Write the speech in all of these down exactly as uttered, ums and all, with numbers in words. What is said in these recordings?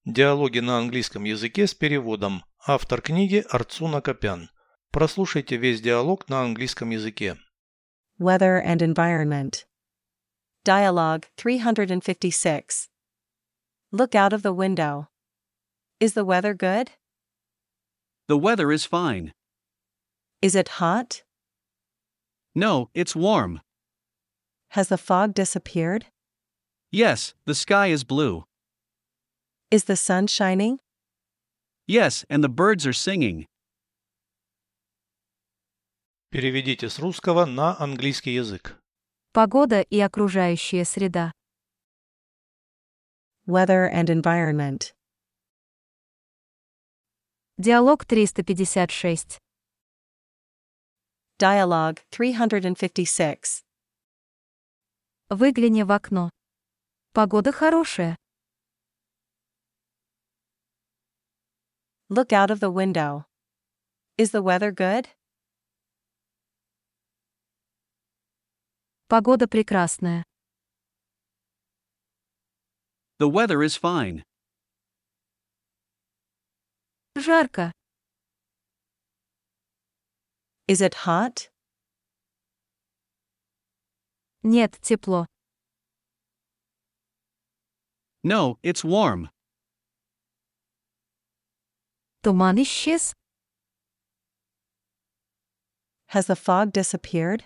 Диалоги на английском языке с переводом. Автор книги Арцуна Копян. Прослушайте весь диалог на английском языке. Weather and environment. Dialogue three hundred fifty-six. Look out of the window. Is the weather good? The weather is fine. Is it hot? No, it's warm. Has the fog disappeared? Yes, the sky is blue. Is the sun shining? Yes, and the birds are singing. Переведите с русского на английский язык. Погода и окружающая среда. Weather and environment. Диалог триста пятьдесят шесть. Dialogue three hundred fifty-six. Выгляни в окно. Погода хорошая. Look out of the window. Is the weather good? Погода прекрасная. The weather is fine. Жарко. Is it hot? Нет, тепло. No, it's warm. Туман исчез. Has the fog disappeared?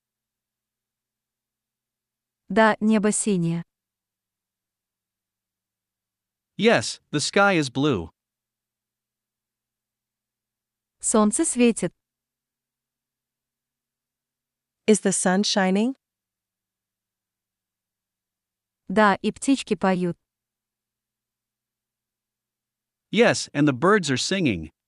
Да, небо синее. Yes, the sky is blue. Солнце светит. Is the sun shining? Да, и птички поют. Yes, and the birds are singing.